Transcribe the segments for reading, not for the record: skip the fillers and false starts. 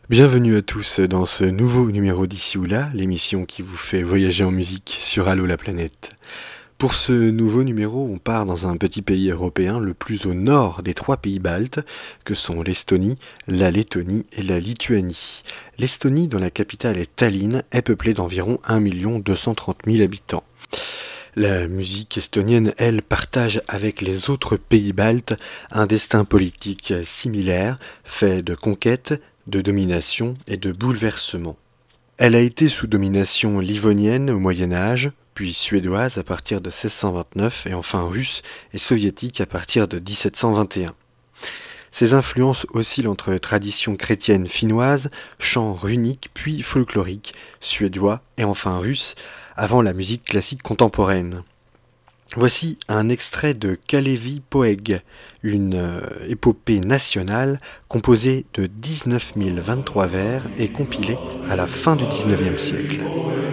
Bienvenue à tous dans ce nouveau numéro d'Ici ou Là, l'émission qui vous fait voyager en musique sur Allô la planète. Pour ce nouveau numéro, on part dans un petit pays européen le plus au nord des trois pays baltes, que sont l'Estonie, la Lettonie et la Lituanie. L'Estonie, dont la capitale est Tallinn, est peuplée d'environ 1 230 000 habitants. La musique estonienne, elle, partage avec les autres pays baltes un destin politique similaire, fait de conquêtes, de domination et de bouleversements. Elle a été sous domination livonienne au Moyen Âge, puis suédoise à partir de 1629 et enfin russe et soviétique à partir de 1721. Ces influences oscillent entre tradition chrétienne finnoise, chants runiques puis folkloriques, suédois et enfin russe, avant la musique classique contemporaine. Voici un extrait de Kalevi Poeg, une épopée nationale composée de 19 023 vers et compilée à la fin du XIXe siècle.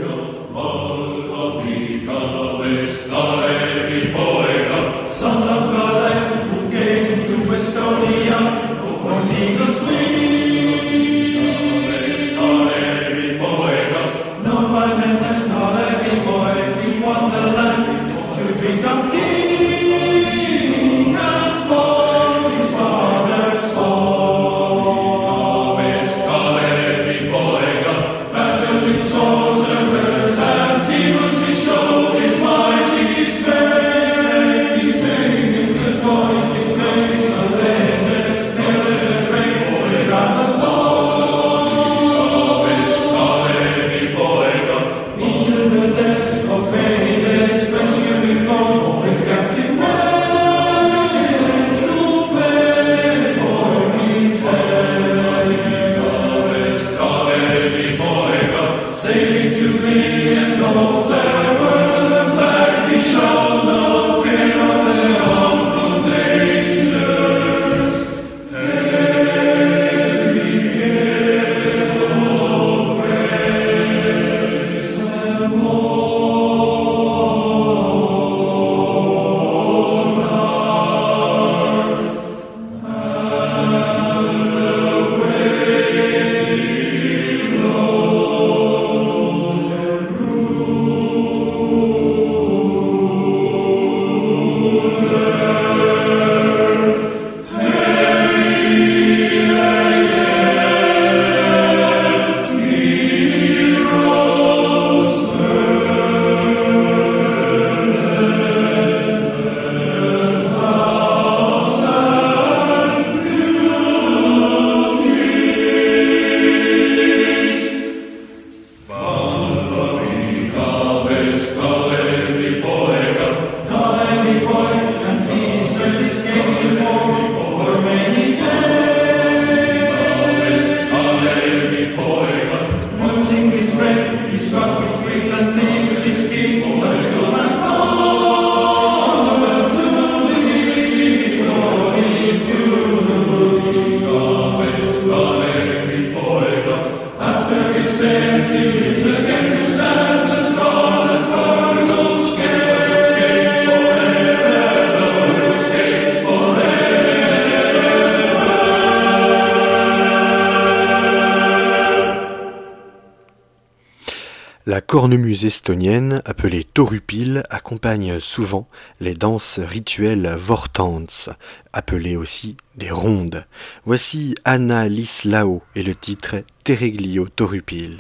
La cornemuse estonienne, appelée torupil, accompagne souvent les danses rituelles vortants, appelées aussi des rondes. Voici Anna Lislao et le titre Tereglio torupil.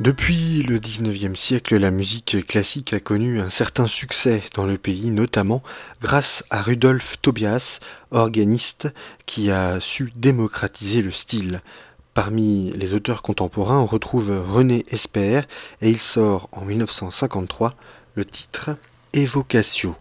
Depuis le XIXe siècle, la musique classique a connu un certain succès dans le pays, notamment grâce à Rudolf Tobias, organiste, qui a su démocratiser le style. Parmi les auteurs contemporains, on retrouve René Esper et il sort en 1953 le titre Evocatio.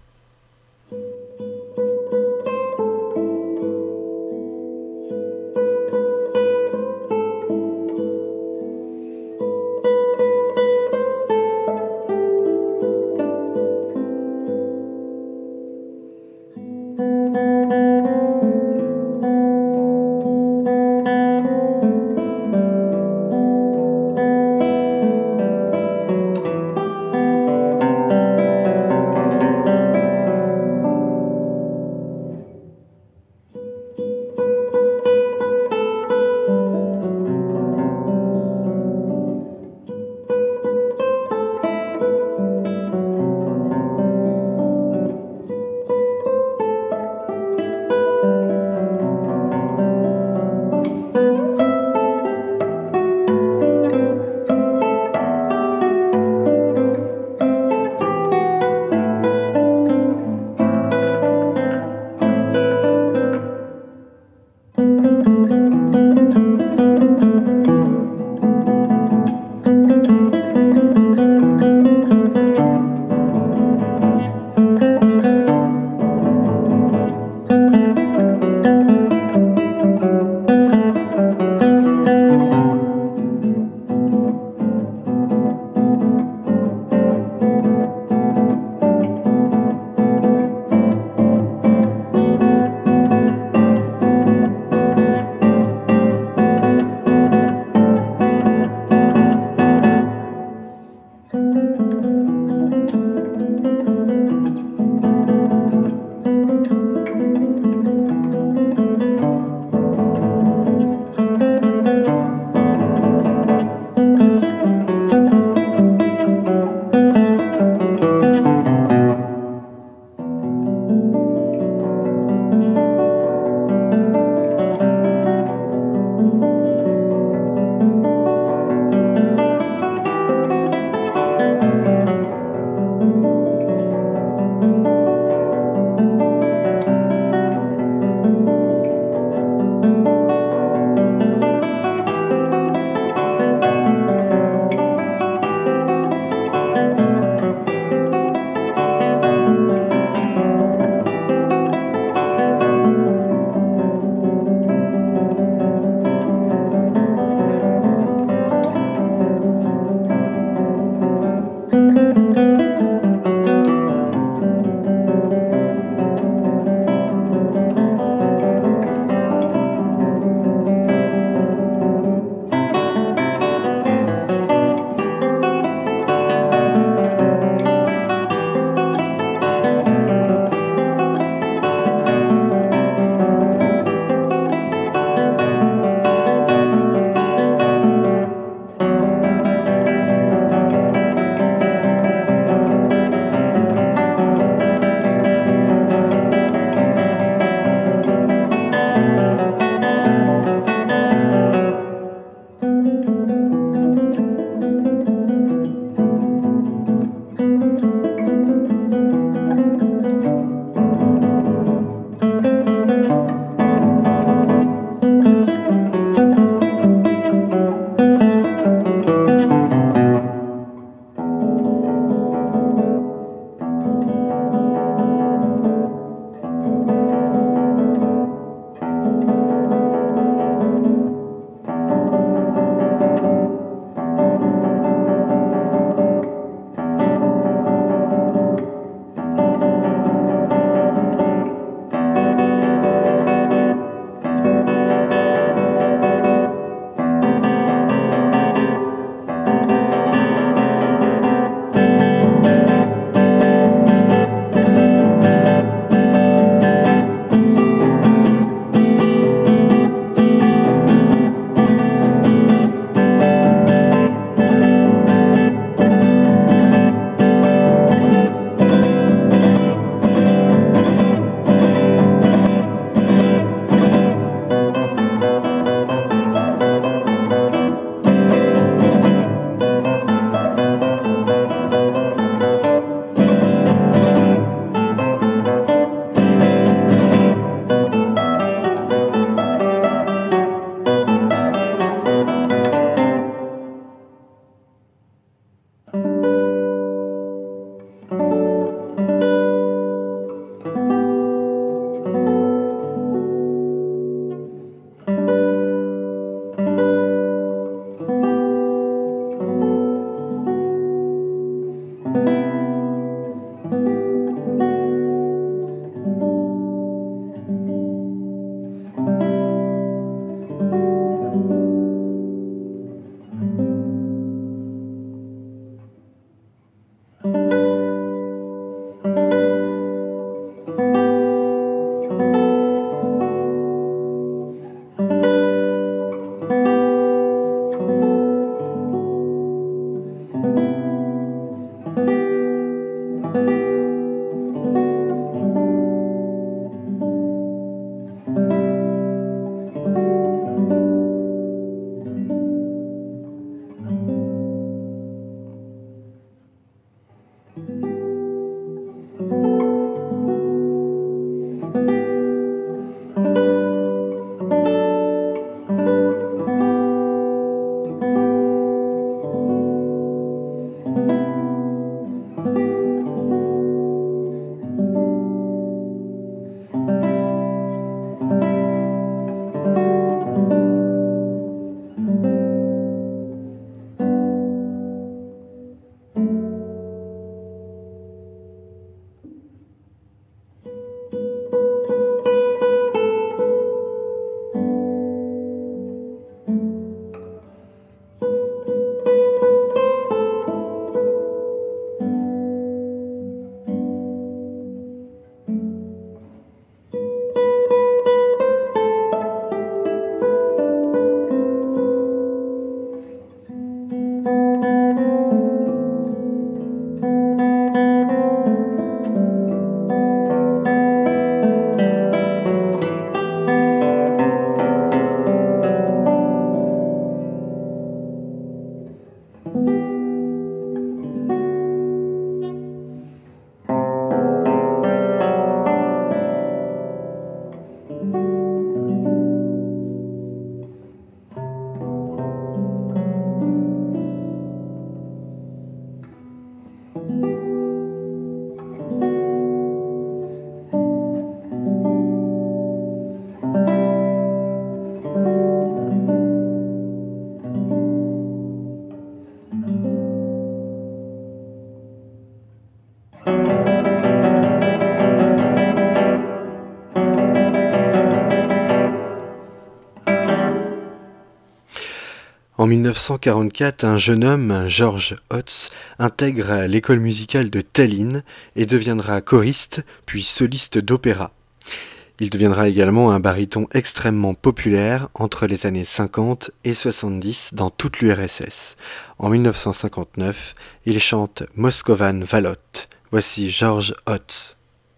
En 1944, un jeune homme, George Hotz, intègre l'école musicale de Tallinn et deviendra choriste, puis soliste d'opéra. Il deviendra également un baryton extrêmement populaire entre les années 50 et 70 dans toute l'URSS. En 1959, il chante Moskovan Valot. Voici George Hotz.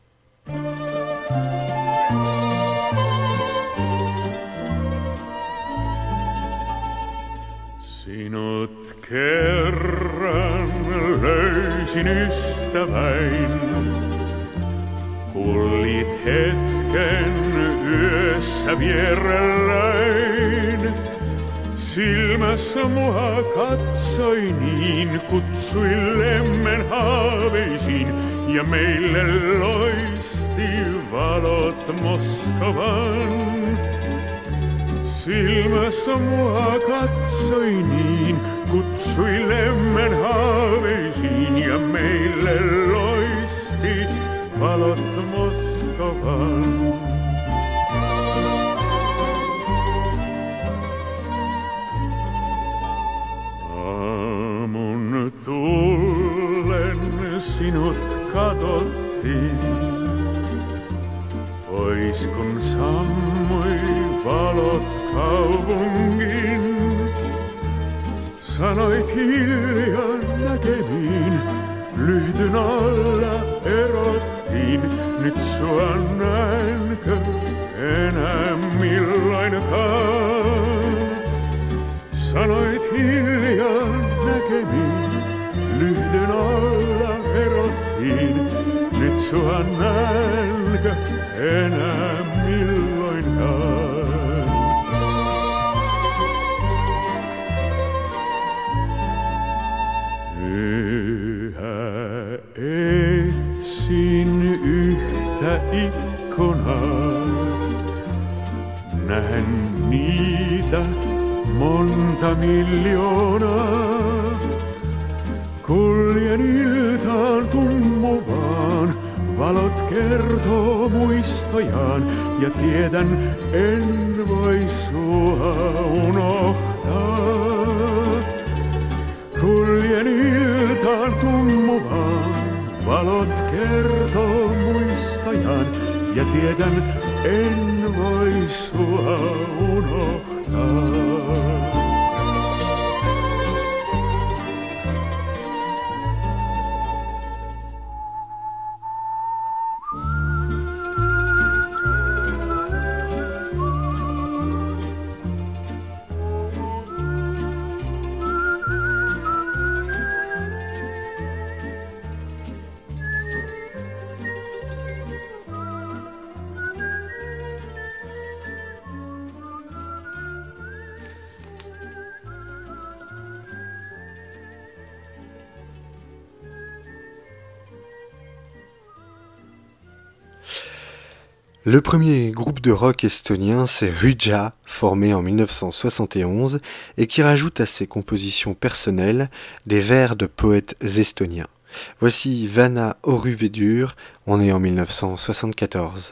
Sinut kerran löysin ystäväin, kullit hetken yössä vierelläin. Silmässä mua katsoi niin, kutsui lemmen haaveisiin ja meille loisti valot Moskovan. Silmässä mua katsoi niin, kutsui lemmen haaveisiin ja meille loisti valot Moskovan. Aamun tullen sinut katsottiin, pois kun sammui valot kaupungin. Sanoit hiljaa näkemiin, lyhtyn alla erottiin. Nyt sua näenkö enää milloinkaan? Sanoit hiljaa näkemiin, lyhdyn alla erottiin. Nyt sua näenkö enää milloinkaan? Yhä etsin yhtä ikkunaa, näen niitä monta miljoonaa. Kuljen iltaan tummuvaan, valot kertoo muistojaan ja tiedän en voi sua unohtaa. Kuljen iltaan tummuvaan, valot kertoo muistojaan ja tiedän en voi sua unohtaa. Le premier groupe de rock estonien, c'est Rüja, formé en 1971 et qui rajoute à ses compositions personnelles des vers de poètes estoniens. Voici Vana Oruvedur, on est en 1974.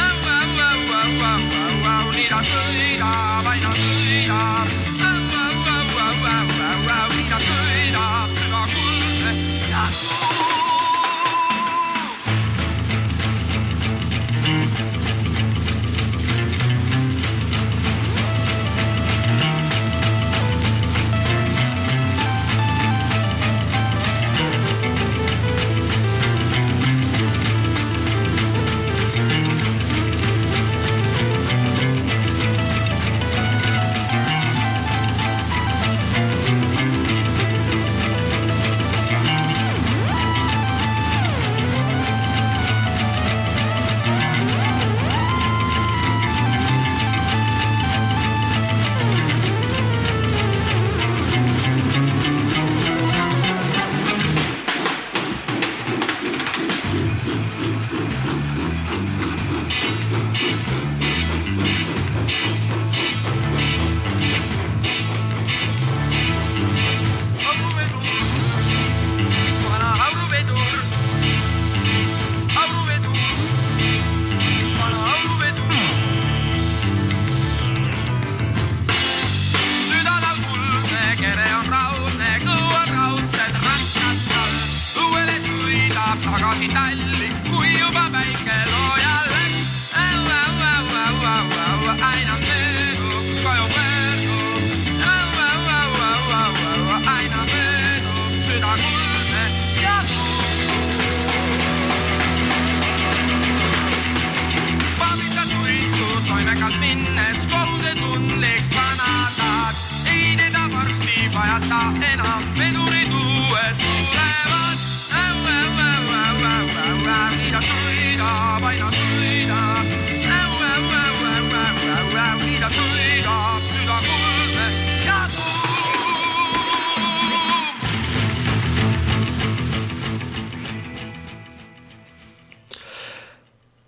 Nii ta sõidab, aina sõidab.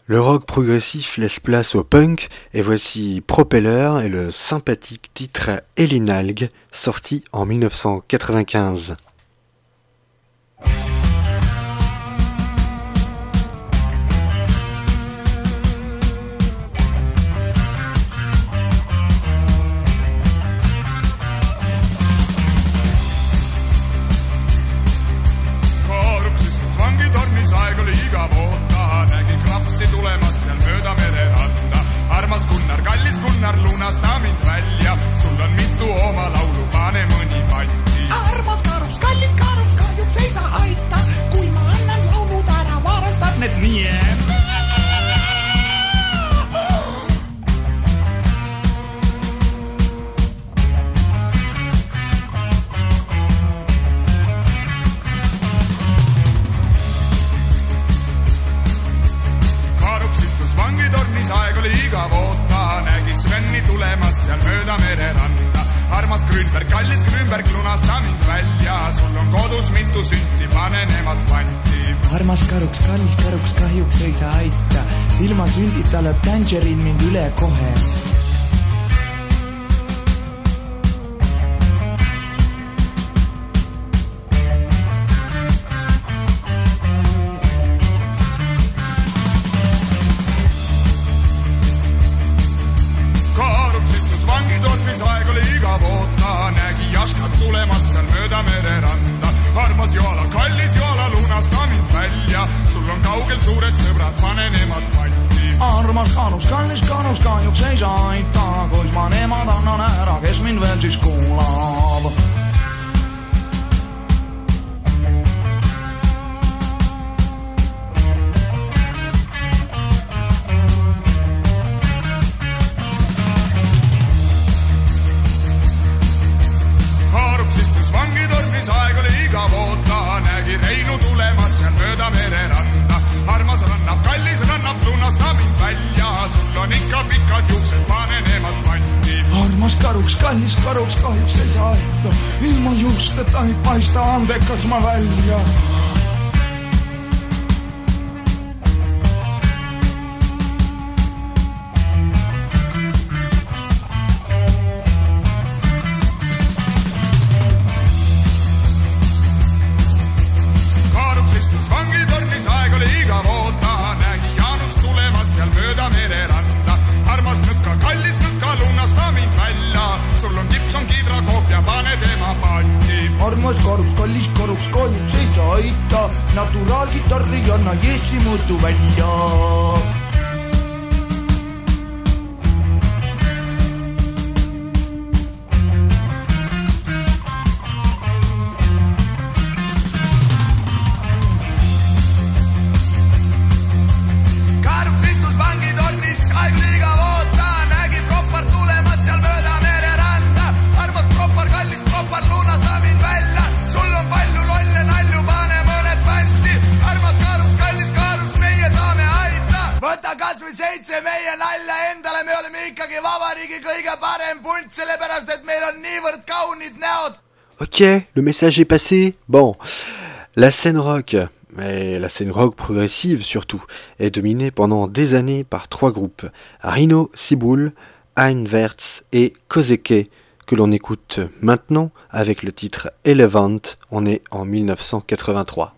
Le rock progressif laisse place au punk et voici Propeller et le sympathique titre Ellenalg sorti en 1995. Tulemas seal mööda mereranda. Armas Gunnar, kallis Gunnar, lunasta mind välja. Sul on mitu oma laulu, pane mõni patti. Armas Karups, kallis Karups, kahjuks ei saa aita. Kui ma annan laulud ära, varastab need nii. Aeg oli igav oota, nägi Sveni tulemas seal mööda mereranda. Armas Grünberg, kallis Grünberg, lunasta mind välja. Sul on kodus mitu sünti, pane nemad panti. Armas Karuks, kallis Karuks, kahjuks ei saa aita. Ilma sündita lööb Tangerine mind üle kohe. Tulemas seal mööda mereranda. Armas Joala, kallis Joala, lunasta mind välja. Sul on kaugel suured sõbrad, pane nemad panti. Armas Karuks, kallis Karuks, kahjuks ei saa aita. Kuid ma nemad annan ära, kes mind veel siis kuulab. Aeg oli igav oota, nägi Reinu tulemas seal mööda mereranda. Armas rannab, kallis rannab, lunasta mind välja. Sul on ikka pikad juuksed, pane nemad panti. Armas Karuks, kallis Karuks, kahjuks ei saa aita. Ilma juusteta ei paista andekas ma välja. Armas Karuks, kallis Karuks, kahjuks ei saa aita. Naturaalgitarri anna Jessi mõõtu välja. meie nalja endale, me oleme ikkagi vabariigi kõige parem punt, sellepärast et meil on niivõrd kaunid näod. Ok, le message est passé. Bon, la scène rock, et la scène rock progressive surtout, est dominée pendant des années par 3 groupes, Rhino, Siboul, Einwärts et Kozeke, que l'on écoute maintenant avec le titre Elevant. On est en 1983.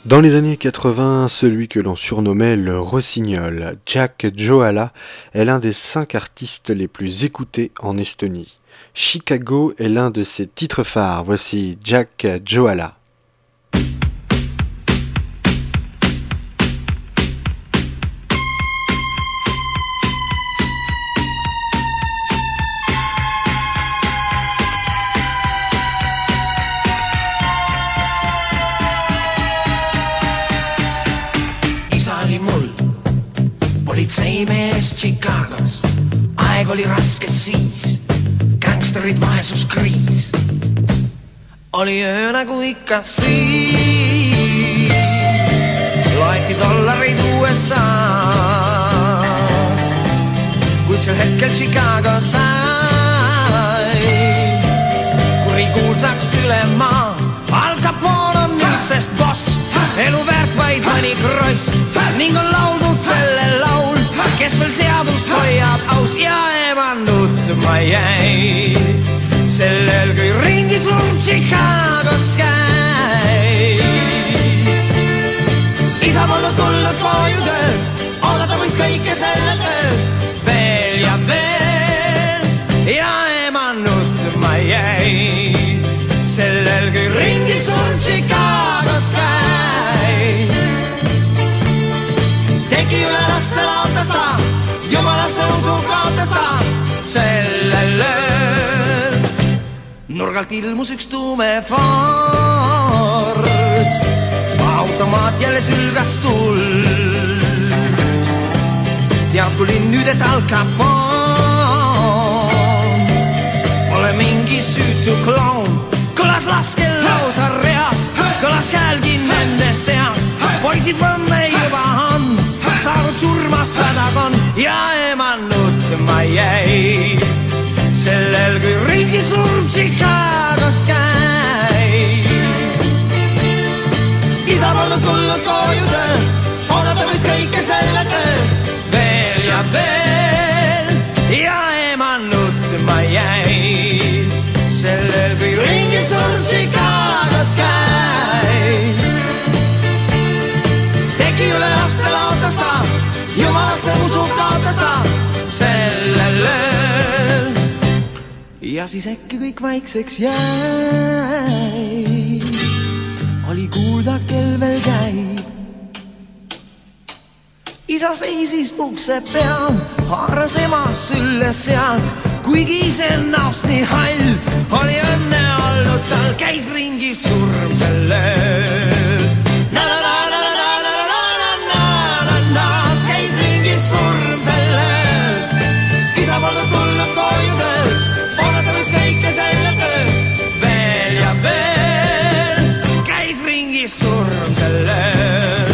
Dans les années 80, celui que l'on surnommait le Rossignol, Jack Joala, est l'un des 5 artistes les plus écoutés en Estonie. Chicago est l'un de ses titres phares. Voici Jack Joala. politseimees Chicagos, aeg oli raske siis, gängsterid vaesuskriis. Oli öö nagu ikka siis, loeti dollareid USA-s, kuid sel hetkel Chicago sai kurikuulsaks üle maa. Al Capone on nüüdsest boss, elu väärt vaid mõni kross ning on lauldud selle laul, kes veel seadust hoiab aus ja ema nutma jäi sellel, kui ringi surm Chicagos käis. Isa polnud tulnud koju tööl, oodata võis kõike sellel tööl veel ja veel ja ema nutma jäi sellel, kui ringi surm Chicagos käis. Tegi üle laste laotas ta, jumalasse usu kaotas ta sellel ööl. Nurgalt ilmus üks tume Ford, automaat jälle sülgas tuld. Tead tulin nüüd, et Al Capone pole mingi süütu kloun. Kõlas laskel lausa reas, kõlas häälgi nende seas. Poisid võmme juba on saanud surma sadakond ja ema nutma jäi sellel, kui ringi surm Chicagos käis. Isa polnud tulnud koju tööl, oodata võis kõike selle tööl veel ja veel ja ema nutma jäi sellel, kui ringi surm Chicagos käis. Tegi üle laste laotas ta, jumalasse usu kaotas ta sellel ööl. Ja siis äkki kõik vaikseks jäi, oli kuulda, kel veel käib. Isa seisis ukse peal, haaras ema sülle sealt, kuigi ise näost nii hall, oli õnne olnud tal, käis ringi surm sel ööl. Na-na-na-na-na-na-na-na-na-na, käis ringi surm sel ööl. Isa polnud tulnud koju tööl, oodata võis kõike selle tööl veel ja veel, käis ringi surm sel ööl.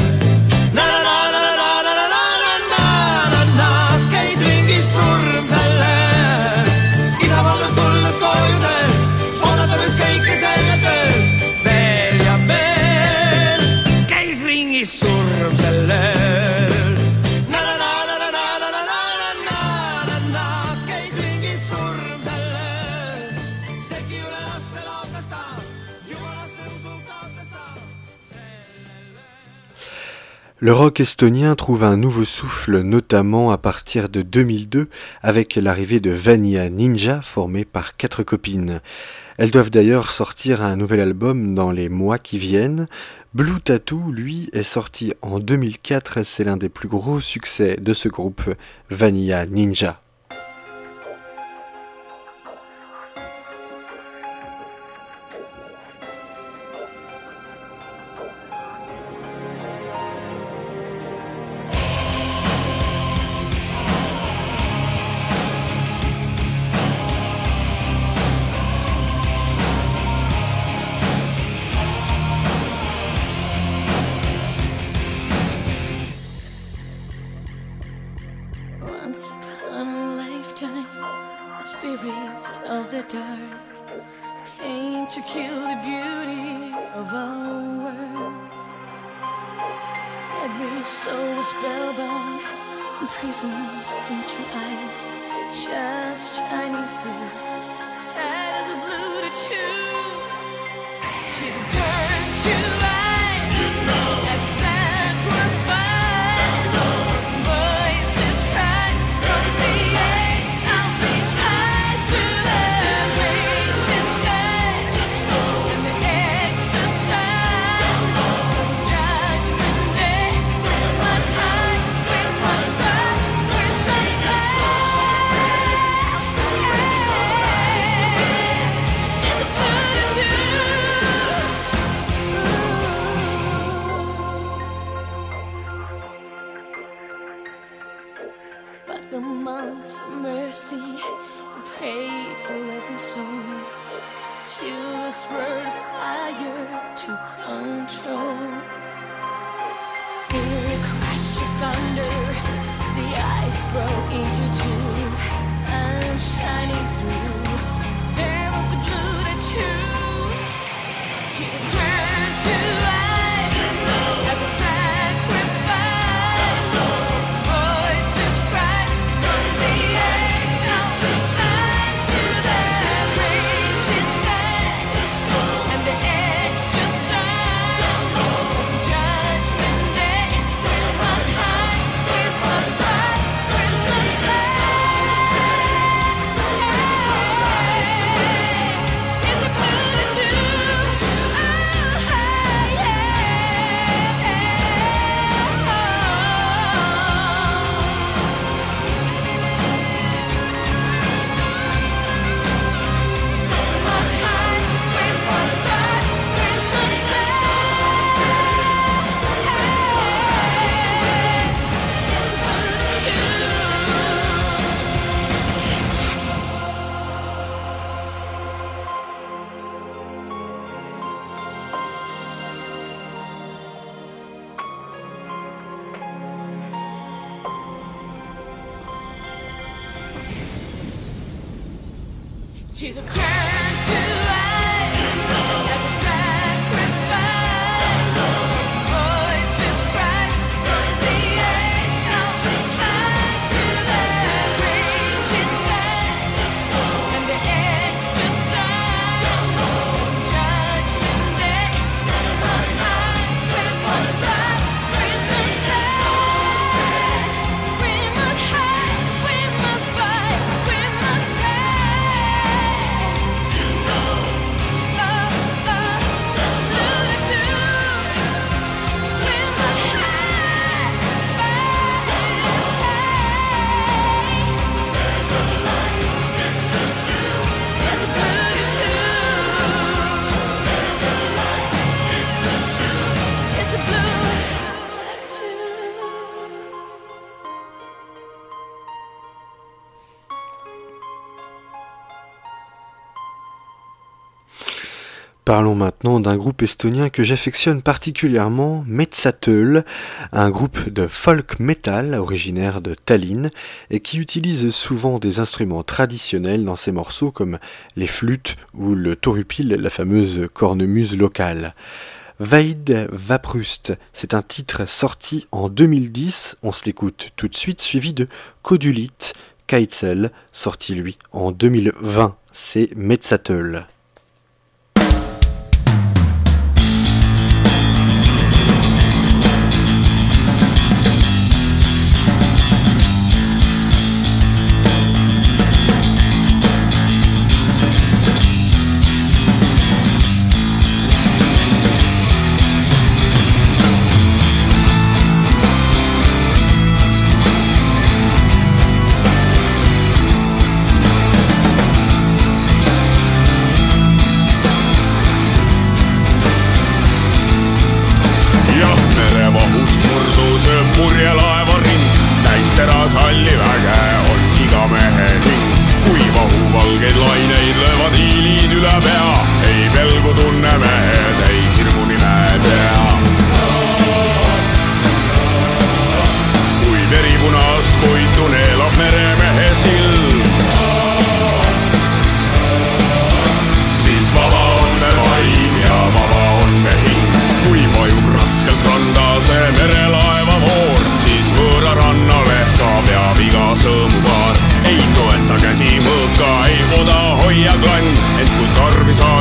Na-na-na-na-na-na-na-na-na-na, käis ringi surm sel ööl. Isa polnud tulnud koju tööl, oodata võis kõike selle tööl veel ja veel, käis ringi surm sel ööl. Na-na-na-na-na-na-na-na-na-na, käis ringi surm sel ööl. Tegi üle laste laotas ta, jumalasse usu kaotas ta sellel ööl. Le rock estonien trouve un nouveau souffle, notamment à partir de 2002, avec l'arrivée de Vanilla Ninja, formée par 4 copines. Elles doivent d'ailleurs sortir un nouvel album dans les mois qui viennent. Blue Tattoo, lui, est sorti en 2004, c'est l'un des plus gros succès de ce groupe, Vanilla Ninja. Once upon a lifetime, the spirits of the dark came to kill the beauty of our world. Every soul was spellbound, imprisoned into eyes, just shining through, sad as a blue to choose. She's a gun to life. She's of turned to ice as a sacrifice. Voices rise, there's the age, comes the time to the raging skies and the exercise. Judgment Day, we must hide, we must fight, prisoners die. We must hide, we must fight, we must pray. Parlons maintenant d'un groupe estonien que j'affectionne particulièrement, Metsätöl, un groupe de folk metal originaire de Tallinn et qui utilise souvent des instruments traditionnels dans ses morceaux comme les flûtes ou le torupil, la fameuse cornemuse locale. Vaid Vaprust, c'est un titre sorti en 2010, on se l'écoute tout de suite, suivi de Kodulit Kaitsel, sorti lui en 2020, c'est Metsätöl. Ei toeta käsi mõõka, ei oda hoia klann, ent kui tarvis on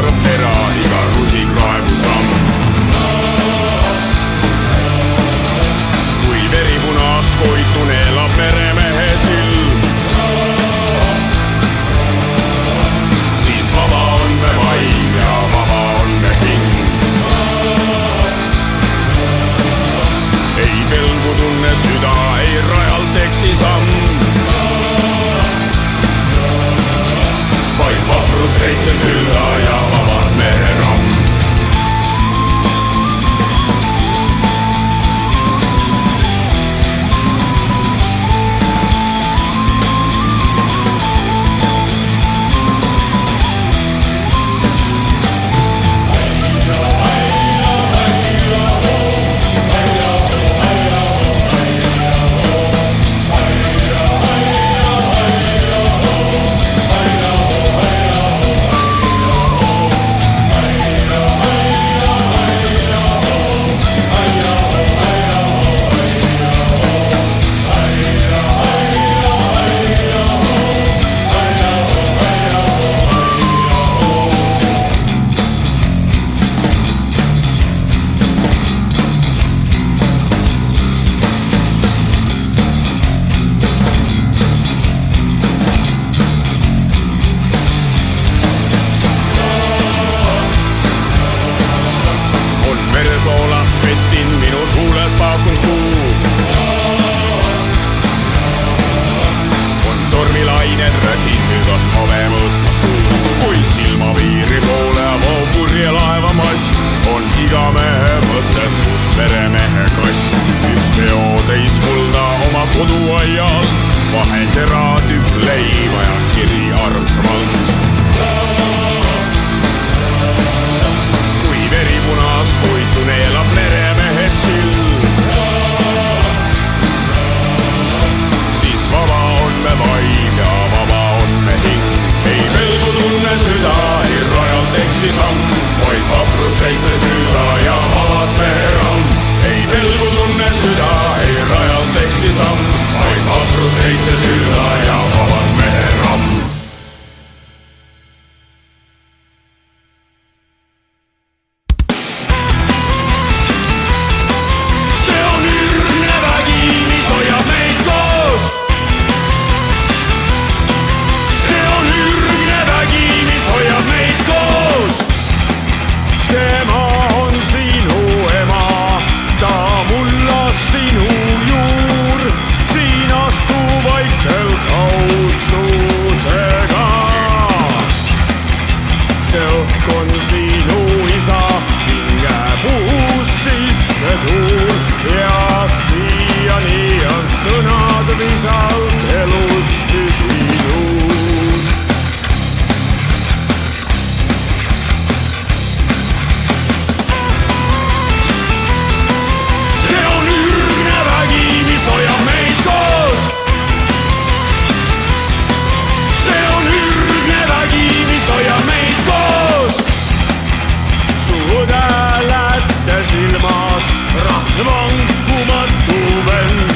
seitse silla ja vabad mehe ramm. see on ürgne vägi, mis hoiab meid koos. see on ürgne vägi, mis hoiab meid koos. see maa on sinu ema, ta mullas sinu juur, siin astu vaikselt austusega. see õhk on sinu isa, hingepuus sisse tuul ja siiani on sõnad visalt elust püsinud. see on ürgne vägi, mis hoiab meid koos. see on ürgne vägi, mis hoiab meid koos. su õde lätte silmas, vankumatu vend,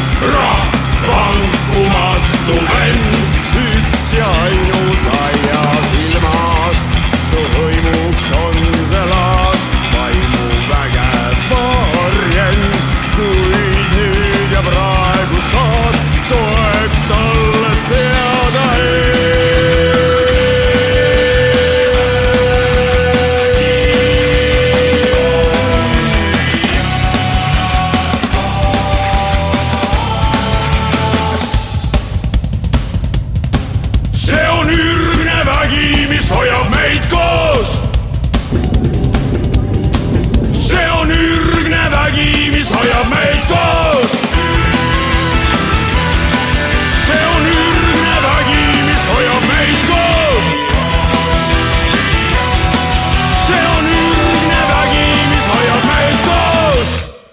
vankumatu vend, üks ja ainult aias ilmas. su hõimuks on see laas, vaimu vägev varjend, kuid nüüd ja praegu saad toeks talle seada see on ürgne vägi, mis hoiab meid koos. see on ürgne vägi, mis hoiab meid koos. see on ürgne vägi, mis hoiab meid koos. see on ürgne vägi, mis hoiab meid koos.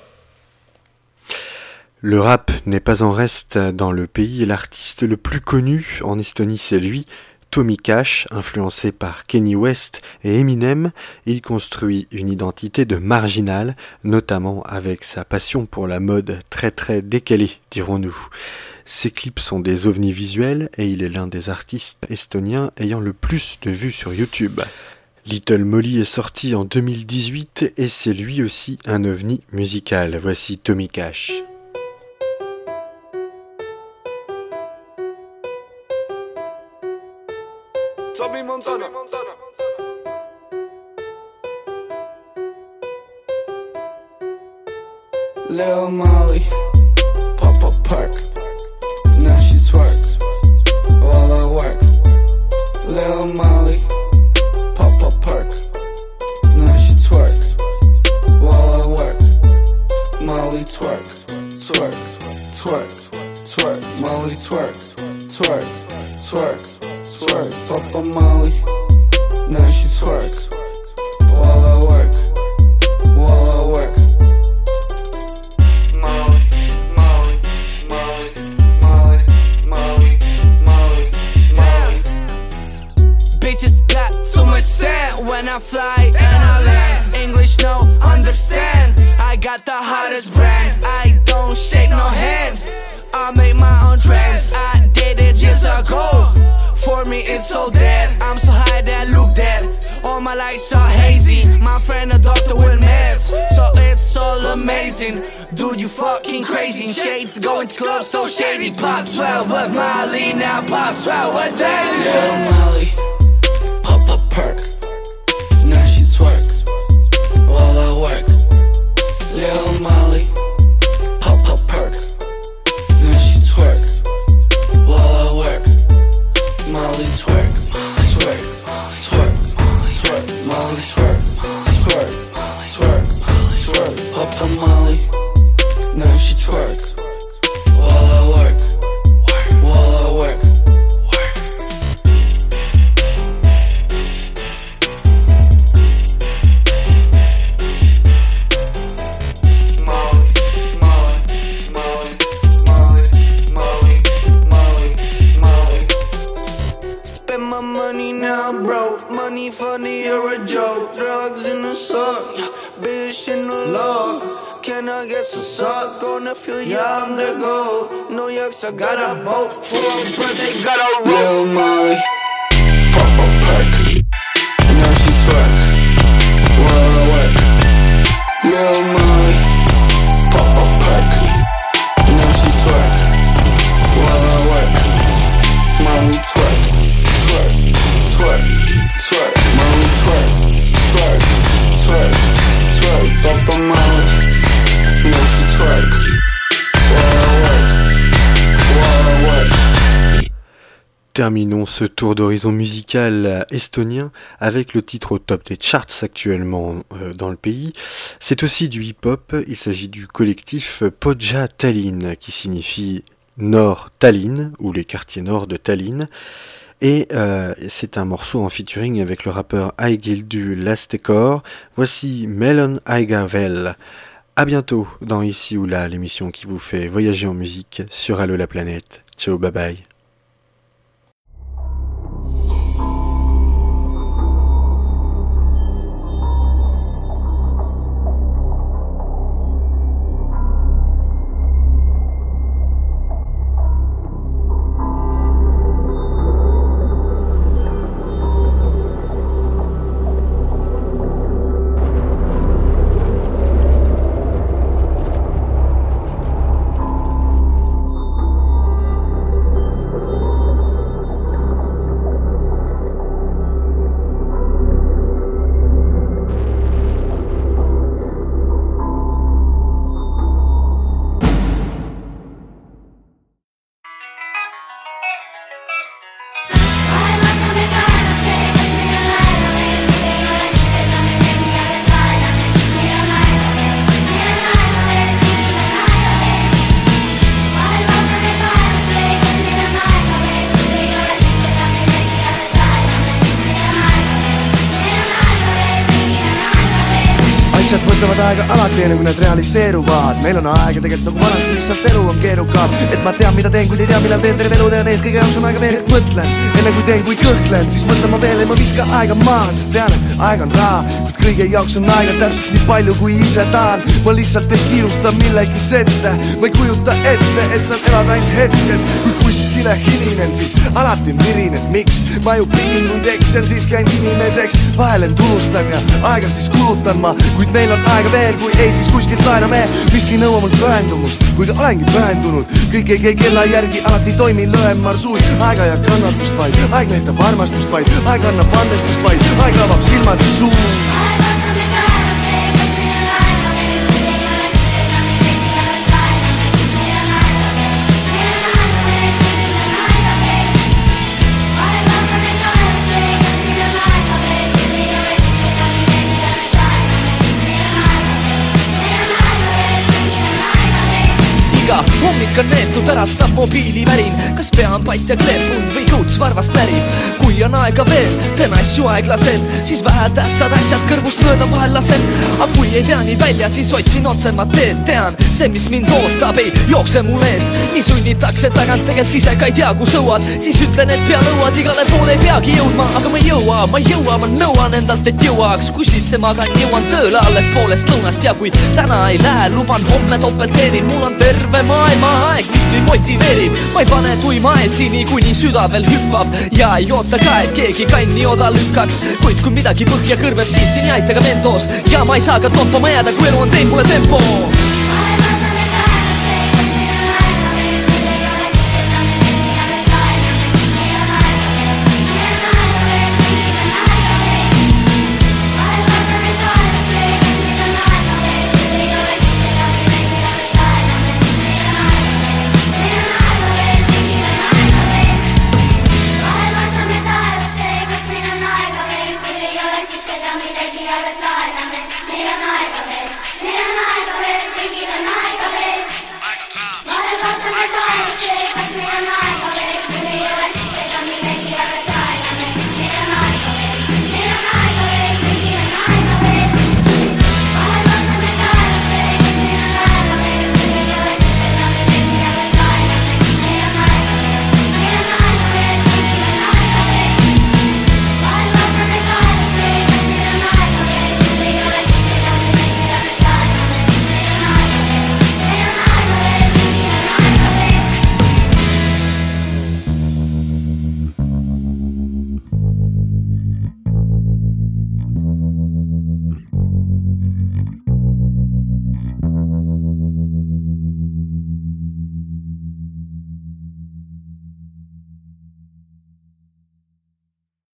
Le rap n'est pas en reste dans le pays et l'artiste le plus connu en Estonie c'est lui, Tommy Cash, influencé par Kanye West et Eminem. Il construit une identité de marginal, notamment avec sa passion pour la mode très décalée, dirons-nous. Ses clips sont des ovnis visuels et il est l'un des artistes estoniens ayant le plus de vues sur YouTube. Little Molly est sorti en 2018 et c'est lui aussi un ovni musical. Voici Tommy Cash. Tommy Montana. Lil Molly, pop a perk. Now she twerks while I work. Lil Molly, pop a perk. Now she twerks while I work. Molly twerk, twerk, twerk, twerk. Molly twerk, twerk, twerk. Twerk, Papa Molly, now she twerks while I work, while I work. Molly, Molly, Molly, Molly, Molly, Molly, Molly. Bitches got so much sand when I fly and I land. English no understand. I got the hottest brand. I don't shake no hand. I make my own trends. I did it years ago. For me it's so dead, I'm so high that look dead. All my lights are hazy, my friend a doctor with meds. So it's all amazing, dude you fucking crazy. In shades going to clubs so shady. Pop 12 with Molly, now pop 12 with Daily. Lil Molly, pop a perk. Now she twerks while I work. Lil Molly, pop a perk. Now she twerks while I work. Molly twerk, twerk, twerk, twerk, Molly twerk, twerk, twerk, twerk, Papa Molly, now she twerks while I work, while I work. can I get some suck on the field? Yeah, I'm the goat. New York's, I got a boat for a birthday, got a Lil Molly, pop a perk. Now she twerk while I work. Lil Molly, pop a perk. Now she twerk while I work. Mommy twerk, twerk, twerk, twerk. Mommy twerk, twerk, twerk, twerk. Pop a Molly, now she twerk while I work. Terminons ce tour d'horizon musical estonien avec le titre au top des charts actuellement dans le pays. C'est aussi du hip-hop, il s'agit du collectif Pohja Tallinn qui signifie Nord Tallinn ou les quartiers nord de Tallinn. Et c'est un morceau en featuring avec le rappeur Aigildu Lastekor. Voici Melon Aigavel. À bientôt dans Ici ou Là, l'émission qui vous fait voyager en musique sur Allo la planète. Ciao, bye bye. asjad võtavad aega alati enne kui nad realiseeruvad. Meil on aega tegelikult nagu vanasti, lihtsalt elu on keerukam. Et ma tean mida teen, kui ei tea millal teen, terve elu tean ees, kõige jaoks on aega veel, et mõtlen. Enne kui teen, kui kõhklen, siis mõtlen ma veel, ei ma viska aega maha, sest tean, et aeg on raha. Kuid kõige jaoks on aega täpselt nii palju, kui ise tahan. Ma lihtsalt ei kiirusta millegi ette, ma ei kujuta ette, et saan elada ainult hetkes. Kui kuskile hilinen, siis alati mirinen, miks? Ma ju pidin, kui eksen, siis käin inimeseks. Vahel end unustan ja aega siis kulutan ma, kuid meil on aega veel, kui ei, siis kuskilt laename. Miski nõua mul pühendumust, kuigi olengi pühendunud. Kõik ei käi kella järgi, alati toimi lööm marsuud. Aega ja kannatust vaid, aeg näitab armastust vaid, aeg annab andestust vaid, aeg avab silmad ja suu. Hommik on neetud, äratab mobiilivärin. Kas pea on pat ja kleepunud või kõuts varvast närib? Kui on aega veel, teen asju aeglaselt, siis vähe tähtsad asjad kõrvust mööda vahel lasen. Aga kui ei tea nii välja, siis otsin otsemat teed. Tean, see mis mind ootab ei jookse mul eest. Nii sunnitakse tagant, tegelikult ise ka ei tea kus õuad. Siis ütlen, et pea nõuad, igale poole ei peagi jõudma. Aga ma ei jõua, ma nõuan endalt, et jõuaks. Kui siis see magan, jõuan tööle alles poolest lõunast. Ja kui täna ei lähe, luban homme topelt teenin. Mul on terve maailma aeg, mis mind motiveerib. Ma ei pane tuima aeti, nii kuni süda veel hüppab. Ja ei oota ka, et keegi kanni oda lükkaks. Kuid kui midagi põhja kõrveb, siis siin ei aita ka mentos. Ja ma ei saa ka toppama jääda, kui elu on teinud mulle tempo.